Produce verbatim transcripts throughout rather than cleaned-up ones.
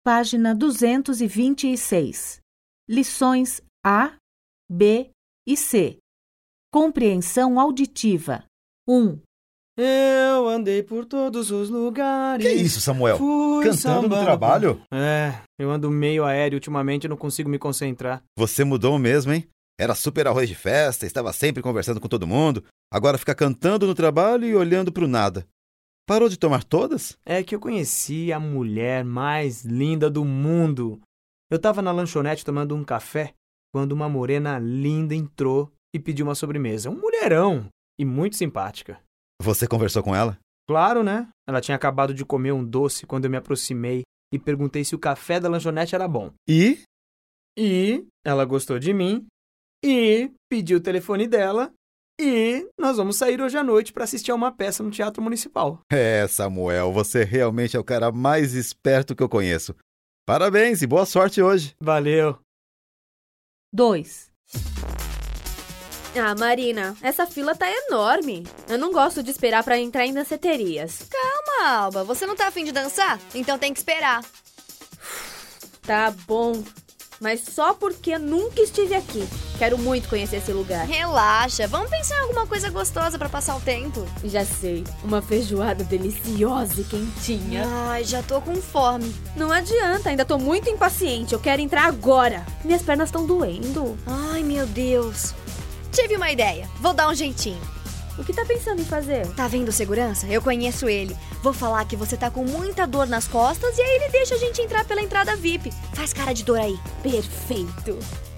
Página duzentos e vinte e seis. Lições A, B e C. Compreensão auditiva. um. Eu andei por todos os lugares. Que isso, Samuel? Fui Cantando sambando. no trabalho? É, eu ando meio aéreo ultimamente e não consigo me concentrar. Você mudou mesmo, hein? Era super arroz de festa, estava sempre conversando com todo mundo. Agora fica cantando no trabalho e olhando pro nada. Parou de tomar todas? É que eu conheci a mulher mais linda do mundo. Eu tava na lanchonete tomando um café quando uma morena linda entrou e pediu uma sobremesa. Um mulherão e muito simpática. Você conversou com ela? Claro, né? Ela tinha acabado de comer um doce quando eu me aproximei e perguntei se o café da lanchonete era bom. E? E ela gostou de mim e pediu o telefone dela e nós vamos sair hoje à noite para assistir a uma peça no Teatro Municipal. É, Samuel, você realmente é o cara mais esperto que eu conheço. Parabéns e boa sorte hoje. Valeu. dois. Ah, Marina, essa fila tá enorme. Eu não gosto de esperar pra entrar em danceterias. Calma, Alba. Você não tá afim de dançar? Então tem que esperar. Tá bom, mas só porque eu nunca estive aqui. Quero muito conhecer esse lugar. Relaxa. Vamos pensar em alguma coisa gostosa pra passar o tempo. Já sei, uma feijoada deliciosa e quentinha. Ai, já tô com fome. Não adianta, ainda tô muito impaciente. Eu quero entrar agora. Minhas pernas estão doendo. Ai, meu Deus. Tive uma ideia. Vou dar um jeitinho. O que tá pensando em fazer? Tá vendo o segurança? Eu conheço ele. Vou falar que você tá com muita dor nas costas e aí ele deixa a gente entrar pela entrada V I P. Faz cara de dor aí. Perfeito.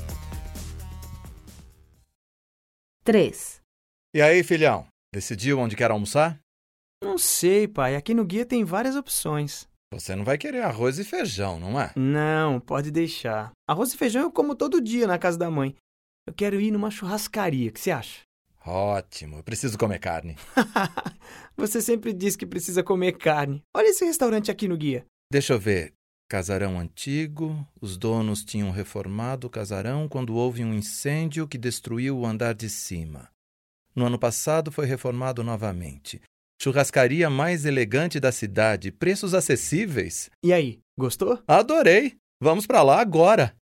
três. E aí, filhão? Decidiu onde quer almoçar? Não sei, pai. Aqui no guia tem várias opções. Você não vai querer arroz e feijão, não é? Não, pode deixar. Arroz e feijão eu como todo dia na casa da mãe. Eu quero ir numa churrascaria. O que você acha? Ótimo. Eu preciso comer carne. Você sempre diz que precisa comer carne. Olha esse restaurante aqui no guia. Deixa eu ver. Casarão antigo. Os donos tinham reformado o casarão quando houve um incêndio que destruiu o andar de cima. No ano passado foi reformado novamente. Churrascaria mais elegante da cidade. Preços acessíveis. E aí, gostou? Adorei. Vamos pra lá agora.